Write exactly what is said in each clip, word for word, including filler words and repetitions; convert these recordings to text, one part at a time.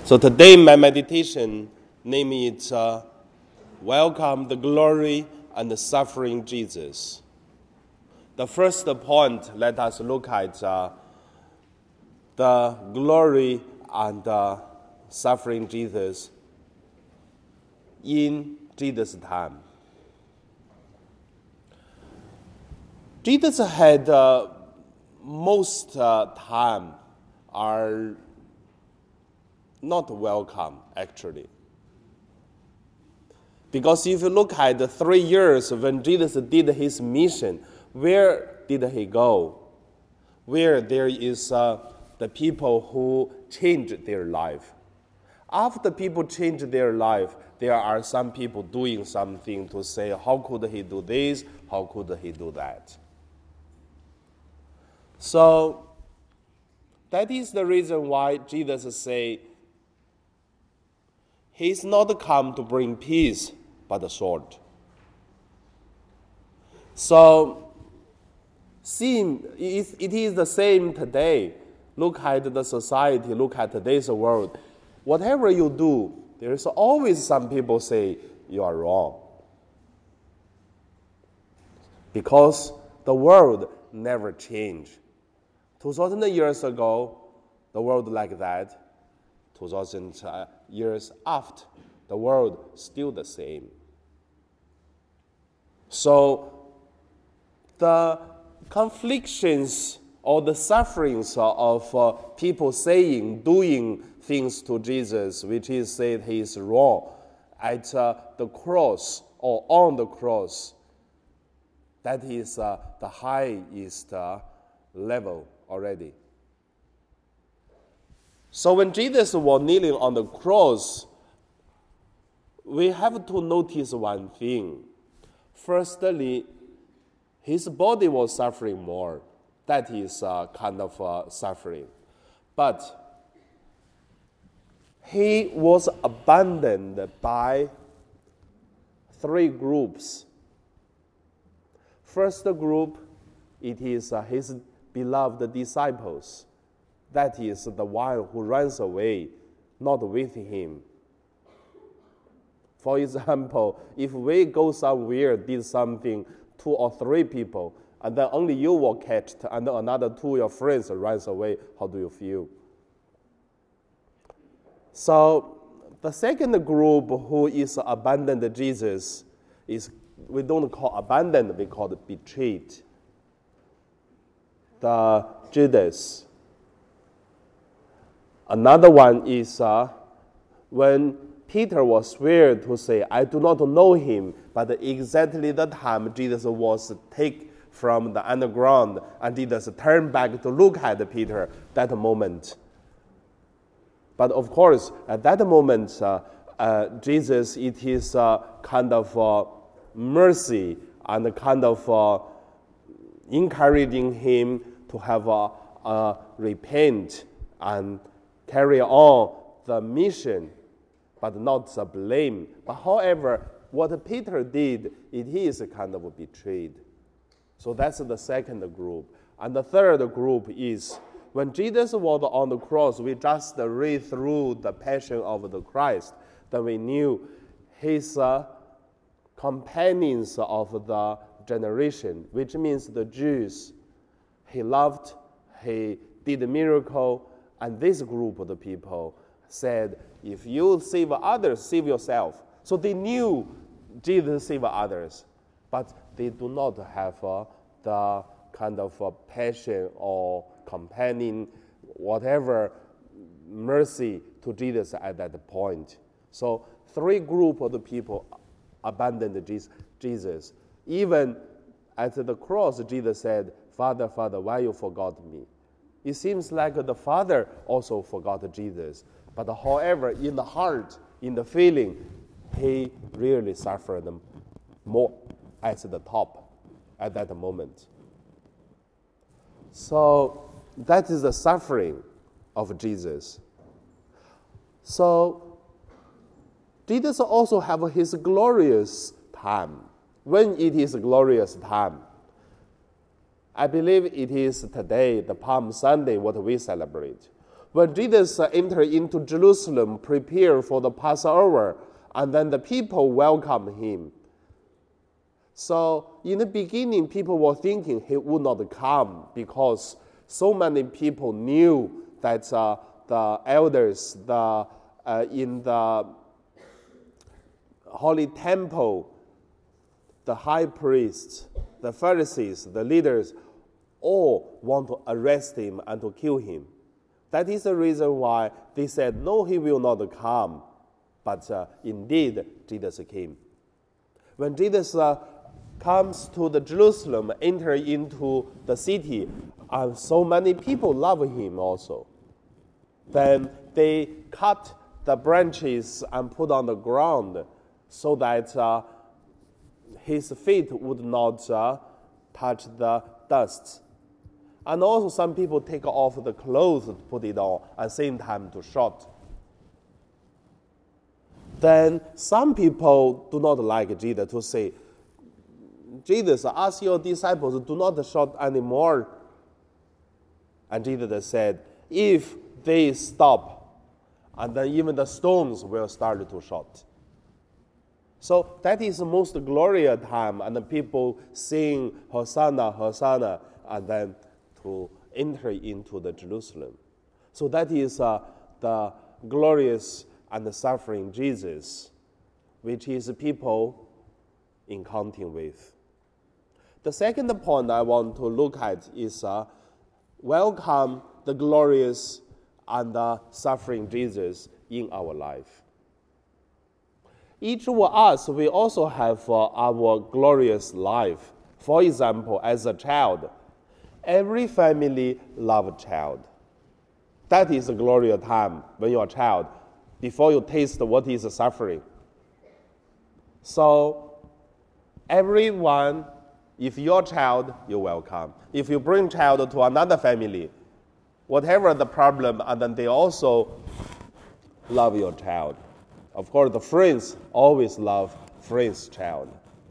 So today my meditation name is uh, Welcome the Glory and the Suffering Jesus. The first point, let us look at uh, the glory and uh, suffering Jesus in Jesus' time. Jesus had uh, most uh, time are not welcome, actually. Because if you look at the three years when Jesus did his mission, where did he go? Where there is uh, the people who changed their life. After people change their life, there are some people doing something to say, how could he do this? How could he do that? So that is the reason why Jesus say, he's not come to bring peace, but a sword. So, same, it is the same today. Look at the society, look at today's world. Whatever you do, there is always some people say you are wrong. Because the world never changed. two thousand years ago, the world like that. two thousand years after, the world still the same. So the conflictions or the sufferings of uh, people saying, doing things to Jesus, which is said he is wrong, at uh, the cross or on the cross, that is uh, the highest uh, level already. So when Jesus was kneeling on the cross, we have to notice one thing. Firstly, his body was suffering more. That is a kind of uh, suffering. But he was abandoned by three groups. First group, it is uh, his beloved disciples. That is the one who runs away, not with him. For example, if we go somewhere, did something, two or three people, and then only you were catched, and then another two of your friends runs away, how do you feel? So the second group who is abandoned Jesus is, we don't call abandoned, we call it betrayed. The Judas. Another one is uh, when Peter was swear to say, I do not know him, but exactly the time Jesus was taken from the underground and Jesus turned back to look at Peter, that moment. But of course, at that moment, uh, uh, Jesus, it is uh, kind of uh, mercy and kind of uh, encouraging him to have a, a repent and carry on the mission, but not the blame. But however, what Peter did, it is kind of betrayed. So that's the second group. And the third group is, when Jesus was on the cross, we just read through the passion of the Christ, then we knew his uh, companions of the generation, which means the Jews. He loved, he did a miracle, and this group of the people said, if you save others, save yourself. So they knew Jesus saved others, but they do not have uh, the kind of uh, passion or companion, whatever mercy to Jesus at that point. So three groups of the people abandoned Jesus. Even at the cross, Jesus said, Father, Father, why you forgot me? It seems like the Father also forgot Jesus. But however, in the heart, in the feeling, he really suffered more at the top at that moment. So that is the suffering of Jesus. So Jesus also have his glorious time. When it is glorious time, I believe it is today, the Palm Sunday, what we celebrate. When Jesus uh, entered into Jerusalem, prepared for the Passover, and then the people welcomed him. So in the beginning, people were thinking he would not come because so many people knew that uh, the elders the, uh, in the Holy Temple, the high priests, the Pharisees, the leaders, all want to arrest him and to kill him. That is the reason why they said, no, he will not come. But uh, indeed, Jesus came. When Jesus uh, comes to the Jerusalem, enter into the city, and so many people love him also. Then they cut the branches and put on the ground so that uh, his feet would not uh, touch the dust. And also some people take off the clothes to put it on at the same time to shout. Then some people do not like Jesus to say, Jesus, ask your disciples, do not shout anymore. And Jesus said, if they stop, and then even the stones will start to shout. So that is the most glorious time, and the people sing Hosanna, Hosanna, and then to enter into the Jerusalem. So that is uh, the glorious and the suffering Jesus, which is people encountering with. The second point I want to look at is uh, welcome the glorious and the suffering Jesus in our life. Each of us, we also have uh, our glorious life. For example, as a child, every family loves a child. That is a glorious time when you're a child, before you taste what is suffering. So, everyone, if you're a child, you're welcome. If you bring child to another family, whatever the problem, and then they also love your child. Of course, the friends always love friends' child.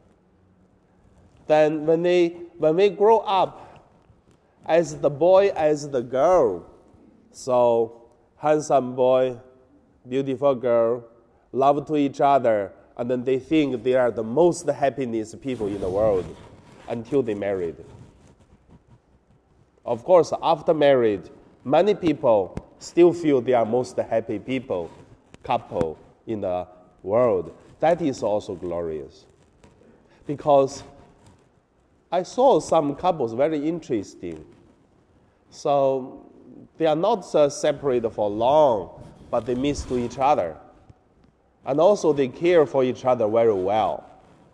Then when they when we grow up, as the boy, as the girl, so handsome boy, beautiful girl, love to each other, and then they think they are the most happiest people in the world until they married. Of course, after marriage, many people still feel they are most happy people, couple in the world. That is also glorious. Because I saw some couples very interesting. So they are not uh, separated for long, but they miss to each other. And also they care for each other very well.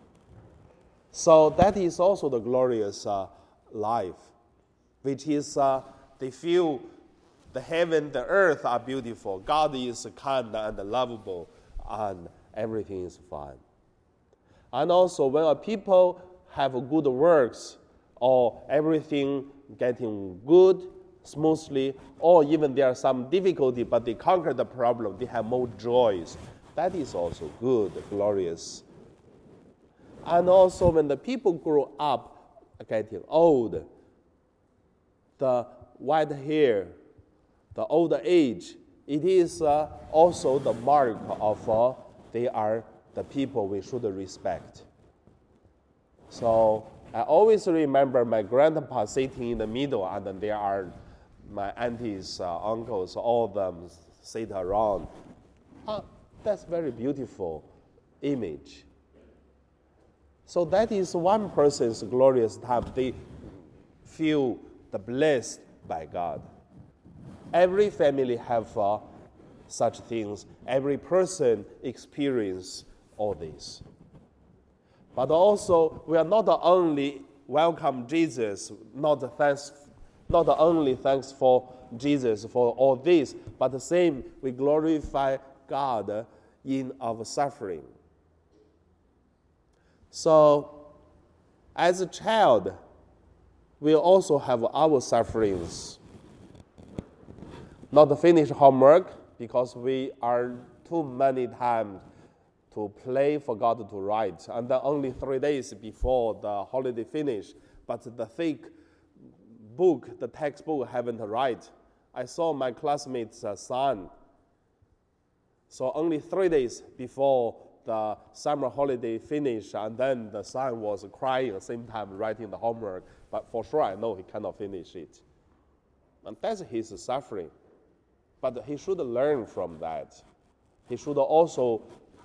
So that is also the glorious uh, life, which is uh, they feel the heaven, the earth are beautiful. God is kind and lovable, and everything is fine. And also when a people have good works, or everything getting good, smoothly, or even there are some difficulty, but they conquer the problem, they have more joys. That is also good, glorious. And also when the people grow up, getting old, the white hair, the old age, it is uh, also the mark of uh, they are the people we should respect. So I always remember my grandpa sitting in the middle, and then there are my aunties, uh, uncles, all of them sit around. Uh, that's very beautiful image. So that is one person's glorious time. They feel the blessed by God. Every family have uh, such things. Every person experience all this. But also, we are not only welcome Jesus, not thanks, not only thanks for Jesus for all this, but the same, we glorify God in our suffering. So, as a child, we also have our sufferings. Not finish homework because we are too many times to play, forgot to write, and then only three days before the holiday finish, but the thick book, the textbook haven't write, I saw my classmate's uh, son. So only three days before the summer holiday finished, and then the son was crying at the same time writing the homework. But for sure, I know he cannot finish it. And that's his suffering. But he should learn from that. He should also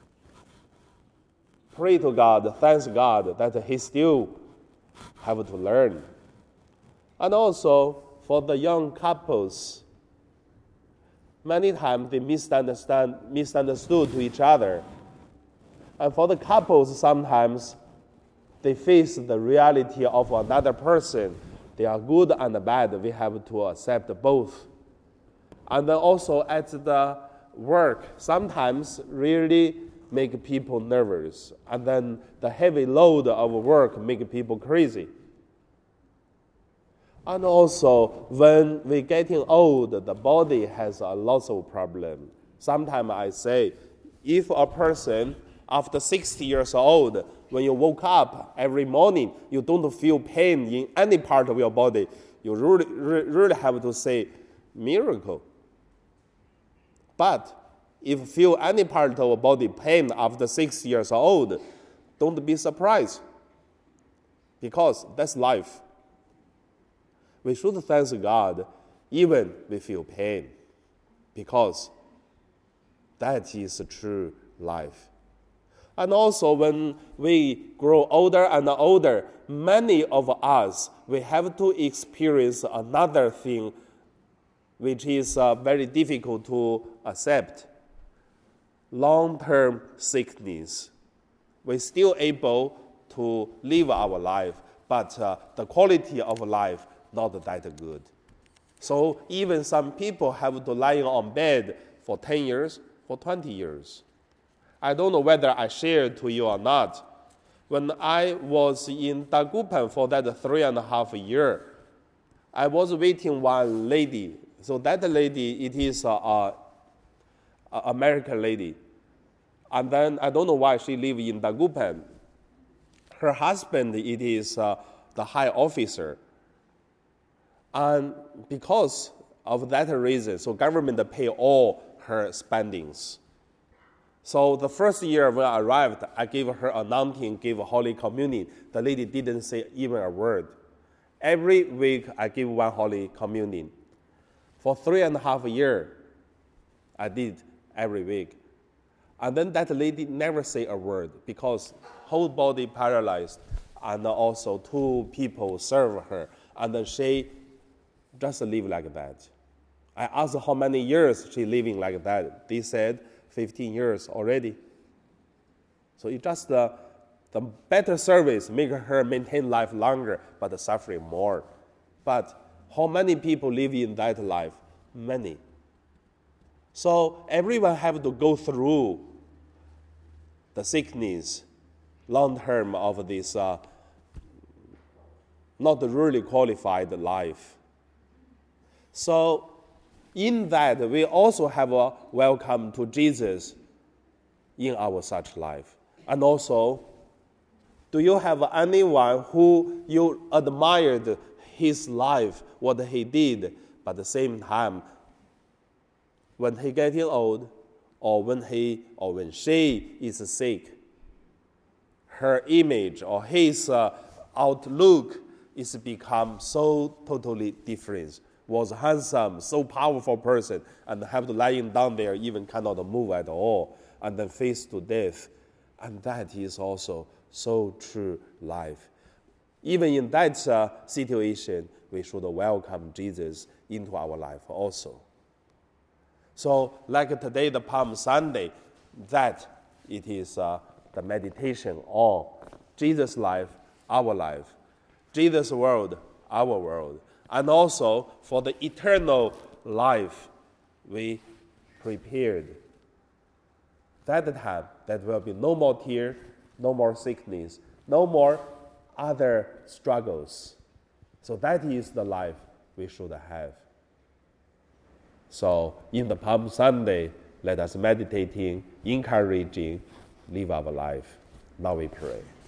pray to God, thank God that he still have to learn. And also, for the young couples, many times they misunderstand, misunderstood to each other. And for the couples, sometimes they face the reality of another person. They are good and bad. We have to accept both. And then also at the work, sometimes really make people nervous. And then the heavy load of work make people crazy. And also, when we're getting old, the body has a lot of problems. Sometimes I say, if a person after sixty years old, when you woke up every morning, you don't feel pain in any part of your body, you really, really have to say, miracle. But if you feel any part of your body pain after six years old, don't be surprised, because that's life. We should thank God even we feel pain, because that is true life. And also when we grow older and older, many of us, we have to experience another thing which is uh, very difficult to accept. Long-term sickness. We're still able to live our life, but uh, the quality of life not that good. So even some people have to lie on bed for ten years, for twenty years. I don't know whether I shared to you or not. When I was in Dagupan for that three and a half year, I was waiting one lady. So that lady, it is a, a, a American lady. And then I don't know why she live in Dagupan. Her husband, it is uh, the high officer. And because of that reason, so government pay all her spendings. So the first year when I arrived, I gave her anointing, gave Holy Communion. The lady didn't say even a word. Every week I give one Holy Communion. For three and a half years, I did every week. And then that lady never say a word because whole body paralyzed, and also two people serve her, and then she just live like that. I asked how many years she living like that. They said fifteen years already. So it just uh, the better service make her maintain life longer, but suffering more. But how many people live in that life? Many. So everyone have to go through the sickness, long term of this uh, not really qualified life. So in that, we also have a welcome to Jesus in our such life. And also, do you have anyone who you admired his life, what he did, but at the same time, when he getting old, or when he or when she is sick, her image or his uh, outlook is become so totally different. Was handsome, so powerful person, and have to lying down there, even cannot move at all, and then face to death. And that is also so true life. Even in that uh, situation, we should welcome Jesus into our life also. So like today, the Palm Sunday, that it is uh, the meditation on Jesus' life, our life, Jesus' world, our world. And also for the eternal life we prepared. That time, there will be no more tear, no more sickness, no more other struggles. So that is the life we should have. So in the Palm Sunday, let us meditating, encouraging, live our life. Now we pray.